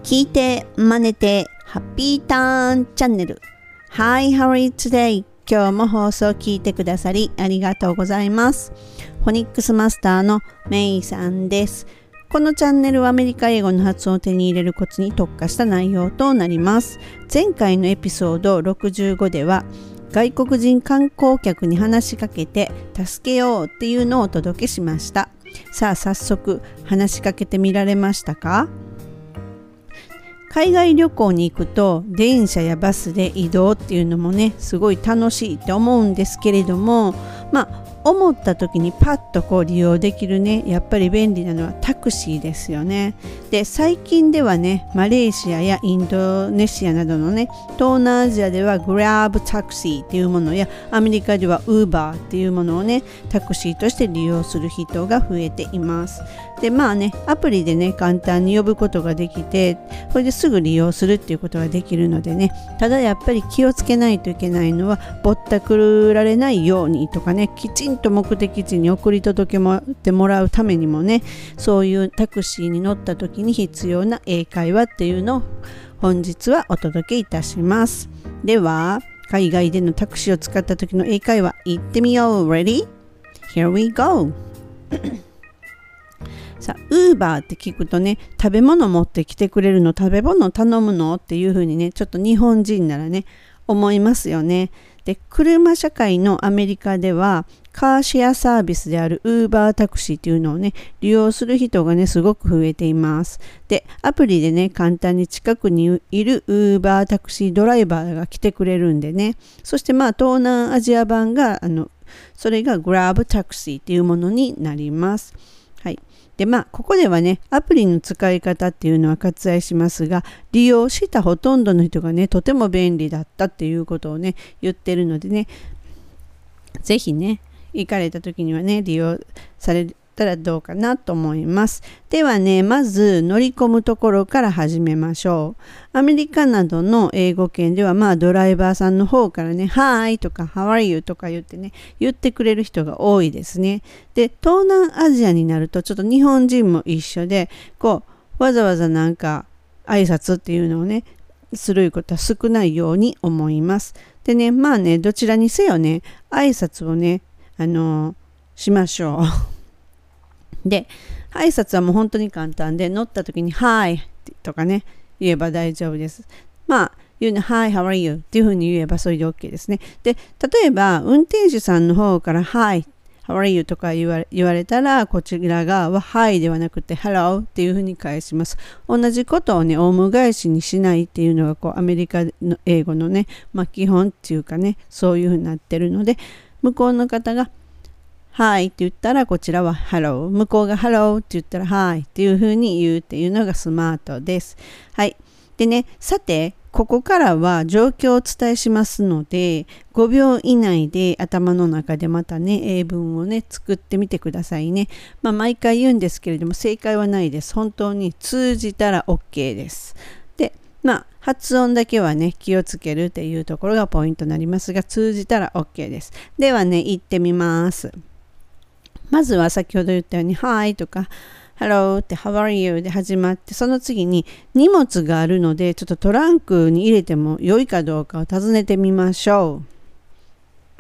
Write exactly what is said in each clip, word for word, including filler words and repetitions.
聞いて真似てハッピーターンチャンネル。 Hi, how are you today? 今日も放送聞いてくださりありがとうございます。フォニックスマスターのメイさんです。このチャンネルはアメリカ英語の発音を手に入れるコツに特化した内容となります。前回のエピソードろくじゅうごでは外国人観光客に話しかけて助けようっていうのをお届けしました。さあ早速話しかけてみられましたか？海外旅行に行くと電車やバスで移動っていうのもねすごい楽しいって思うんですけれども、まあ思った時にパッとこう利用できるねやっぱり便利なのはタクシーですよね。で最近ではねマレーシアやインドネシアなどのね東南アジアではグラブタクシーっていうものやアメリカではウーバーっていうものをねタクシーとして利用する人が増えています。でまあねアプリでね簡単に呼ぶことができてこれですぐ利用するっていうことができるのでね、ただやっぱり気をつけないといけないのはぼったくられないようにとかね、きちんと目的地に送り届けてもらうためにもね、そういうタクシーに乗った時に必要な英会話っていうのを本日はお届けいたします。では海外でのタクシーを使った時の英会話行ってみよう。 Ready? Here we go さあ、ウーバーって聞くとね、食べ物持ってきてくれるの、食べ物頼むのっていう風にね、ちょっと日本人ならね、思いますよね。で、車社会のアメリカでは、カーシェアサービスであるウーバータクシーっていうのをね、利用する人がね、すごく増えています。で、アプリでね、簡単に近くにいるウーバータクシードライバーが来てくれるんでね、そしてまあ、東南アジア版が、あの、それがグラブタクシーっていうものになります。はい。でまあここではねアプリの使い方っていうのは割愛しますが、利用したほとんどの人がねとても便利だったっていうことをね言ってるのでね、ぜひね行かれた時にはね利用されたらどうかなと思います。ではねまず乗り込むところから始めましょう。アメリカなどの英語圏ではまあドライバーさんの方からね Hi とか How are you とか言ってね言ってくれる人が多いですね。で東南アジアになるとちょっと日本人も一緒でこうわざわざなんか挨拶っていうのをねすることは少ないように思います。でねまあねどちらにせよね挨拶をねあのー、しましょう。で挨拶はもう本当に簡単で乗った時に Hi とかね言えば大丈夫です。まあ言うね Hi how are you っていうふうに言えばそれで OK ですね。で例えば運転手さんの方から Hi how are you とか言われ、言われたらこちら側は Hi ではなくて Hello っていうふうに返します。同じことをねオウム返しにしないっていうのがこうアメリカの英語のねまあ基本っていうかねそういうふうになってるので、向こうの方がはいって言ったらこちらは Hello、 向こうが Hello って言ったら Hi っていう風に言うっていうのがスマートです。はい。でね、さてここからは状況をお伝えしますのでごびょう以内で頭の中でまたね英文をね作ってみてくださいね。まあ毎回言うんですけれども正解はないです。本当に通じたら OK です。でまあ発音だけはね気をつけるっていうところがポイントになりますが通じたら OK です。ではね行ってみます。まずは先ほど言ったように Hi とか Hello って How are you で始まって、その次に荷物があるのでちょっとトランクに入れても良いかどうかを尋ねてみましょう。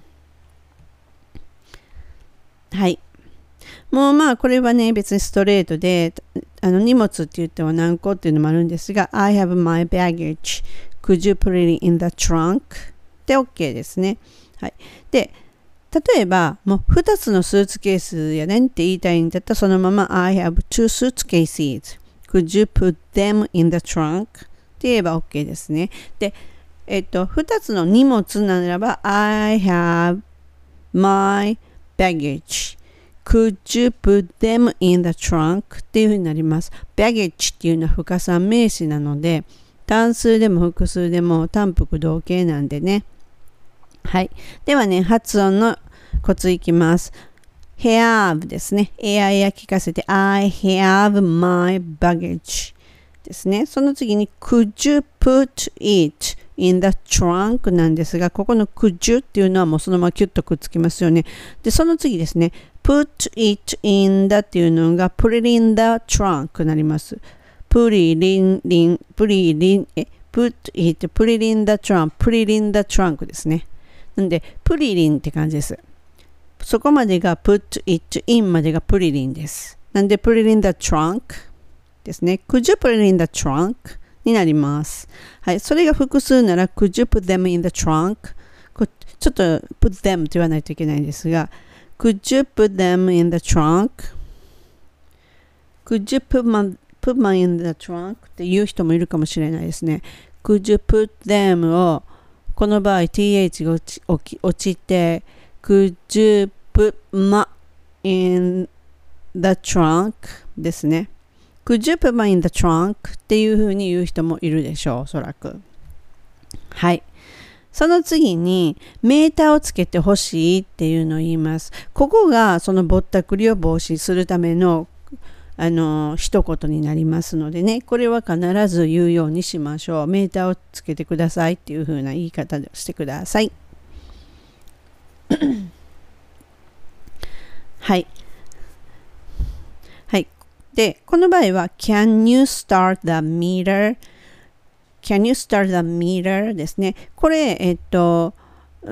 はい。もうまあこれはね別にストレートであの荷物って言っては何個っていうのもあるんですが I have my baggage could you put it in the trunk で OK ですね。はい。で例えばもうふたつのスーツケースやねんって言いたいんだったらそのまま I have two suitcases could you put them in the trunk って言えば OK ですね。でえっとふたつの荷物ならば I have my baggage could you put them in the trunk っていうふうになります。 baggage っていうのは不可算名詞なので単数でも複数でも単複同形なんでね。はい。ではね、発音のコツいきます。have ですね。エアエア聞かせて I have my baggage ですね。その次に could you put it in the trunk なんですが、ここの could you っていうのはもうそのままキュッとくっつきますよね。で、その次ですね。put it in the っていうのが put it in the trunk になります。 put it in, in, put it in,え、put it, put it in the trunk, put it in the trunk ですね。なんで、put it in って感じです。そこまでが put it in までが put it in です。なんで put it in the trunk ですね。could you put it in the trunk になります。はい。それが複数なら could you put them in the trunk ちょっと put them と言わないといけないんですが could you put them in the trunk could you put my, put my in the trunk って言う人もいるかもしれないですね。could you put them をこの場合 th が落ち、落ちてCould you put my in the trunk ですね。Could you put my in the trunk っていう風に言う人もいるでしょう、おそらく。はい。その次にメーターをつけてほしいっていうのを言います。ここがそのぼったくりを防止するためのあの一言になりますのでね、これは必ず言うようにしましょう。メーターをつけてくださいっていう風な言い方をしてください。はい。はい。で、この場合は Can you start the meter?Can you start the meter? ですね。これ、えっと、うん、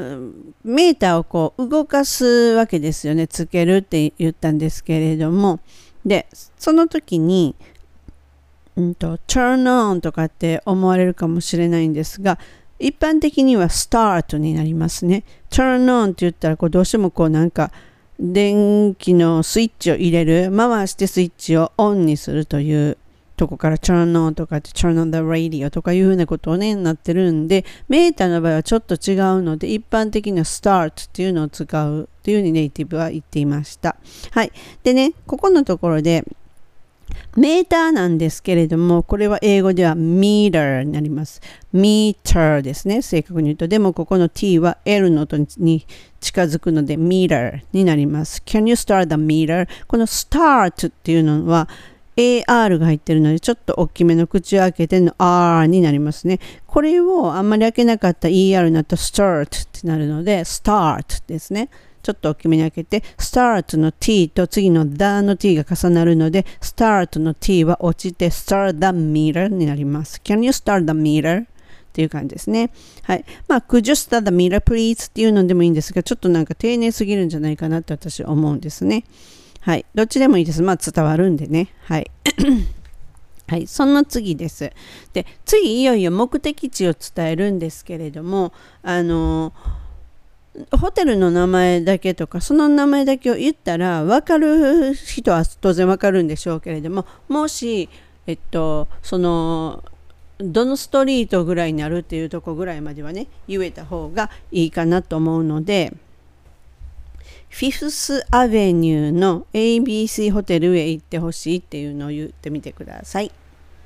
メーターをこう動かすわけですよね。つけるって言ったんですけれども。で、その時に、うんと、turn on とかって思われるかもしれないんですが、一般的には start になりますね。turn on って言ったらこうどうしてもこうなんか電気のスイッチを入れる、回してスイッチをオンにするというとこから turn on とかって turn on the radio とかいうふうなことをねなってるんで、メーターの場合はちょっと違うので一般的には start っていうのを使うというふうにネイティブは言っていました。はい。でね、ここのところでメーターなんですけれども、これは英語では meter になります。meter ですね。正確に言うと。でもここの t は L の音に近づくので meter になります。Can you start the meter? この start っていうのは エーアール が入ってるのでちょっと大きめの口を開けての R になりますね。これをあんまり開けなかった イーアール になったら start ってなるので start ですね。ちょっと大きめに開けて start の t と次の the の t が重なるので start の t は落ちて start the meter になります。Can you start the meter? っていう感じですね。はい。まあ could you start the meter please? っていうのでもいいんですがちょっとなんか丁寧すぎるんじゃないかなって私は思うんですね。はい。どっちでもいいです。まあ伝わるんでね。はい。はい。その次です。で、次いよいよ目的地を伝えるんですけれども、あのホテルの名前だけとかその名前だけを言ったら分かる人は当然分かるんでしょうけれども、もしえっとそのどのストリートぐらいになるっていうとこぐらいまではね言えた方がいいかなと思うので、フィフスアベニューの エービーシー ホテルへ行ってほしいっていうのを言ってみてください。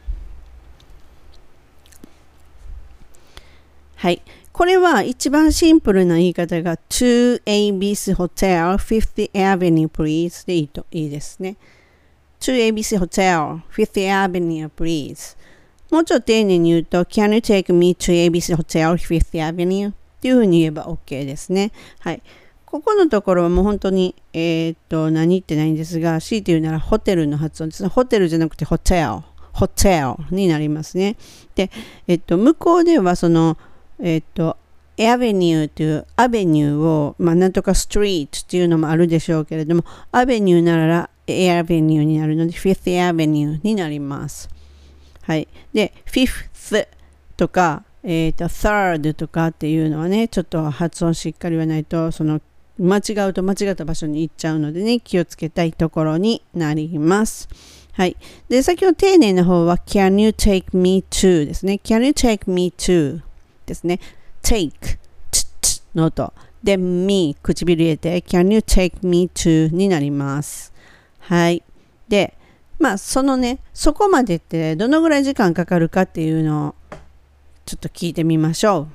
はい。これは一番シンプルな言い方が to エービーシー Hotel fiftieth Avenue please でいいといいですね。to エービーシー Hotel fiftieth Avenue please。もうちょっと丁寧に言うと Can you take me to エービーシー Hotel fiftieth Avenue っていうふうに言えば OK ですね。はい。ここのところはもう本当にえー、っと何言ってないんですが、強いて言うならホテルの発音ですね。ホテルじゃなくてホテル、ホテルになりますね。で、えっと向こうではそのえっと、アベニューというアベニューを、まあ、なんとかストリートっていうのもあるでしょうけれども、アベニューならエアベニューになるので、フィフスアベニューになります。はい。で、フィフスとか、えっと、サードとかっていうのはね、ちょっと発音しっかり言わないと、その、間違うと間違った場所に行っちゃうのでね、気をつけたいところになります。はい。で、先ほど丁寧な方は、Can you take me to ですね。Can you take me toですね。take つつの音で me 唇入れて can you take me to になります。はい。で、まあそのね、そこまでってどのぐらい時間かかるかっていうのをちょっと聞いてみましょう。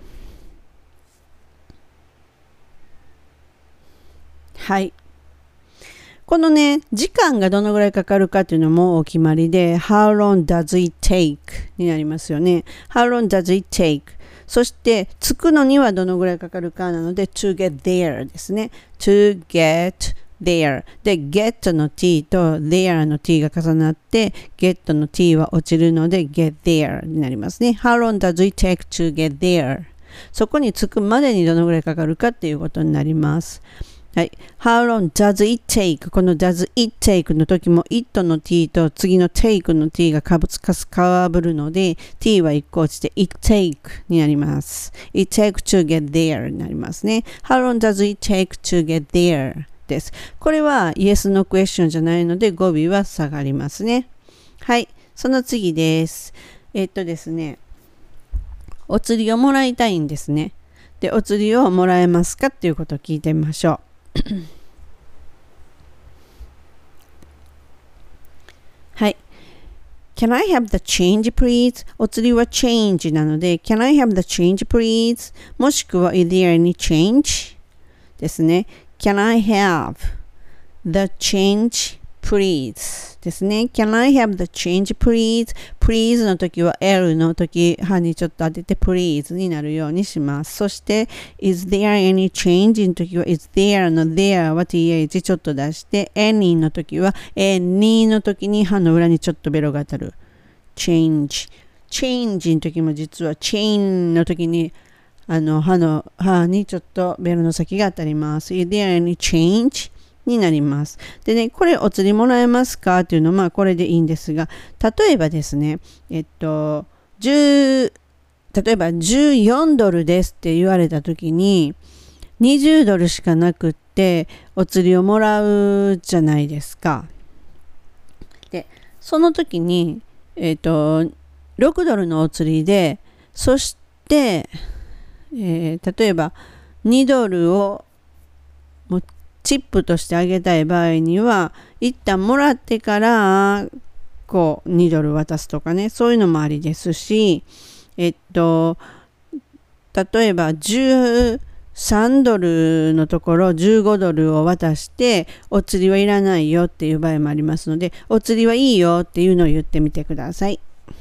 はい。このね、時間がどのぐらいかかるかっていうのもお決まりで How long does it take になりますよね。How long does it takeそして着くのにはどのぐらいかかるかなので to get there ですね。to get there で get の t と there の t が重なって get の t は落ちるので get there になりますね。 How long does it take to get there? そこに着くまでにどのぐらいかかるかっていうことになります。はい。How long does it take? この does it take の時も it の t と次の take の t がかぶつかすかぶるので t はいっこ落ちて it take になります。it take to get there になりますね。How long does it take to get there? です。これは Yes のクエスチョンじゃないので語尾は下がりますね。はい。その次です。えっとですね。お釣りをもらいたいんですね。で、お釣りをもらえますかっていうことを聞いてみましょう。はい。Can I have the change please? お釣りは change なので Can I have the change please? もしくは Is there any change? ですね。Can I have the change please? ですね。Can I have the change please? Please の時は L の時歯にちょっと当てて please になるようにします。そして Is there any change の時は Is there の there は th ちょっと出して any の時は any の時に歯の裏にちょっとベロが当たる。change change の時も実は chain の時にあの歯の歯にちょっとベロの先が当たります。Is there any change? になります。でね、これお釣りもらえますかっていうのはまあこれでいいんですが、例えばですね、えっと、10、例えばじゅうよんドルですって言われたときに、にじゅうドルしかなくってお釣りをもらうじゃないですか。で、その時に、えっと、ろくドルのお釣りで、そして、えー、例えばにドルをもチップとしてあげたい場合には一旦もらってからこうにドル渡すとかね、そういうのもありですし、えっと例えばじゅうさんドルのところじゅうごドルを渡してお釣りはいらないよっていう場合もありますので、お釣りはいいよっていうのを言ってみてください。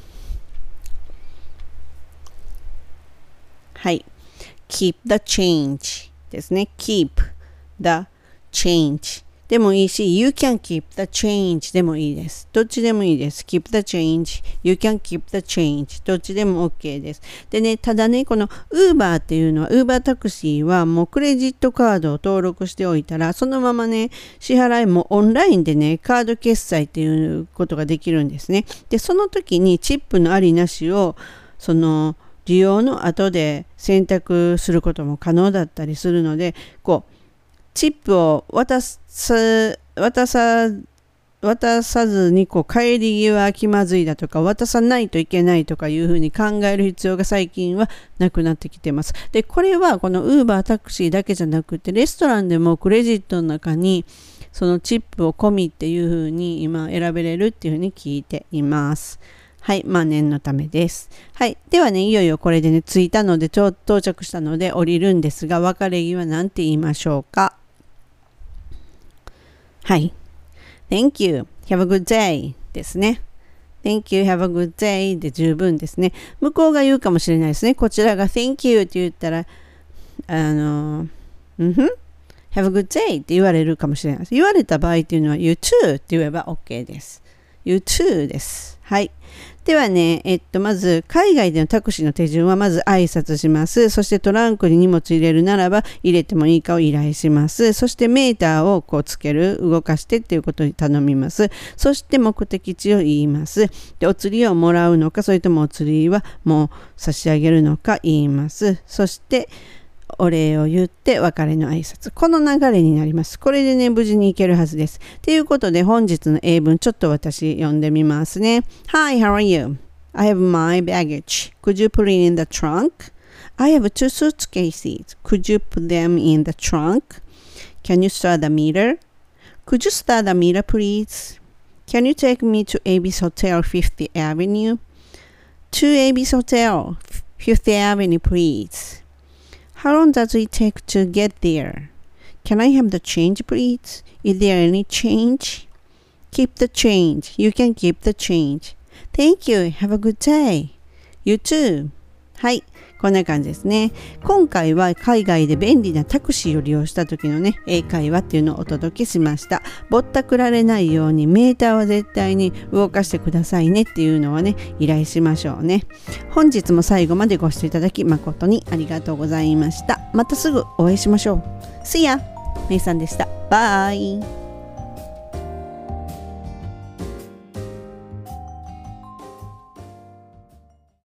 はい。keep the change ですね。keep the change でもいいし you can keep the change でもいいです。どっちでもいいです。keep the change you can keep the change どっちでも OK です。でね、ただね、この Uber っていうのは Uber タクシーはもうクレジットカードを登録しておいたらそのままね、支払いもオンラインでね、カード決済っていうことができるんですね。で、その時にチップのありなしをその利用の後で選択することも可能だったりするので、こうチップを渡す渡さ渡さずにこう帰り際気まずいだとか渡さないといけないとかいうふうに考える必要が最近はなくなってきてます。で、これはこの Uber タクシーだけじゃなくてレストランでもクレジットの中にそのチップを込みっていうふうに今選べれるっていうふうに聞いています。はい。まあ念のためです。はい。ではね、いよいよこれでね、着いたので、到着したので降りるんですが、別れ際なんて言いましょうか。はい。Thank you. Have a good day ですね。Thank you. Have a good day で十分ですね。向こうが言うかもしれないですね。こちらが Thank you って言ったら、あの、うんふん。Have a good day って言われるかもしれないです。言われた場合っていうのは You too って言えば OK です。You too です。はい。ではね、えっと、まず、海外でのタクシーの手順は、まず挨拶します。そしてトランクに荷物入れるならば、入れてもいいかを依頼します。そしてメーターをこうつける、動かしてっていうことに頼みます。そして目的地を言います。で、お釣りをもらうのか、それともお釣りはもう差し上げるのか言います。そして、お礼を言って別れの挨拶。この流れになります。これでね、無事に行けるはずです。ということで、本日の英文ちょっと私読んでみますね。Hi, how are you? I have my baggage. Could you put it in the trunk? I have two suitcases. Could you put them in the trunk? Can you start the meter? Could you start the meter, please? Can you take me to Abyss Hotel, Fifth Avenue? To Abyss Hotel, Fifth Avenue, please.How long does it take to get there? Can I have the change, please? Is there any change? Keep the change. You can keep the change. Thank you. Have a good day. You too. はい、こんな感じですね。今回は海外で便利なタクシーを利用した時のね、英会話っていうのをお届けしました。ぼったくられないようにメーターは絶対に動かしてくださいねっていうのはね、依頼しましょうね。本日も最後までご視聴いただき誠にありがとうございました。またすぐお会いしましょう。See ya! めいさんでした。バイ。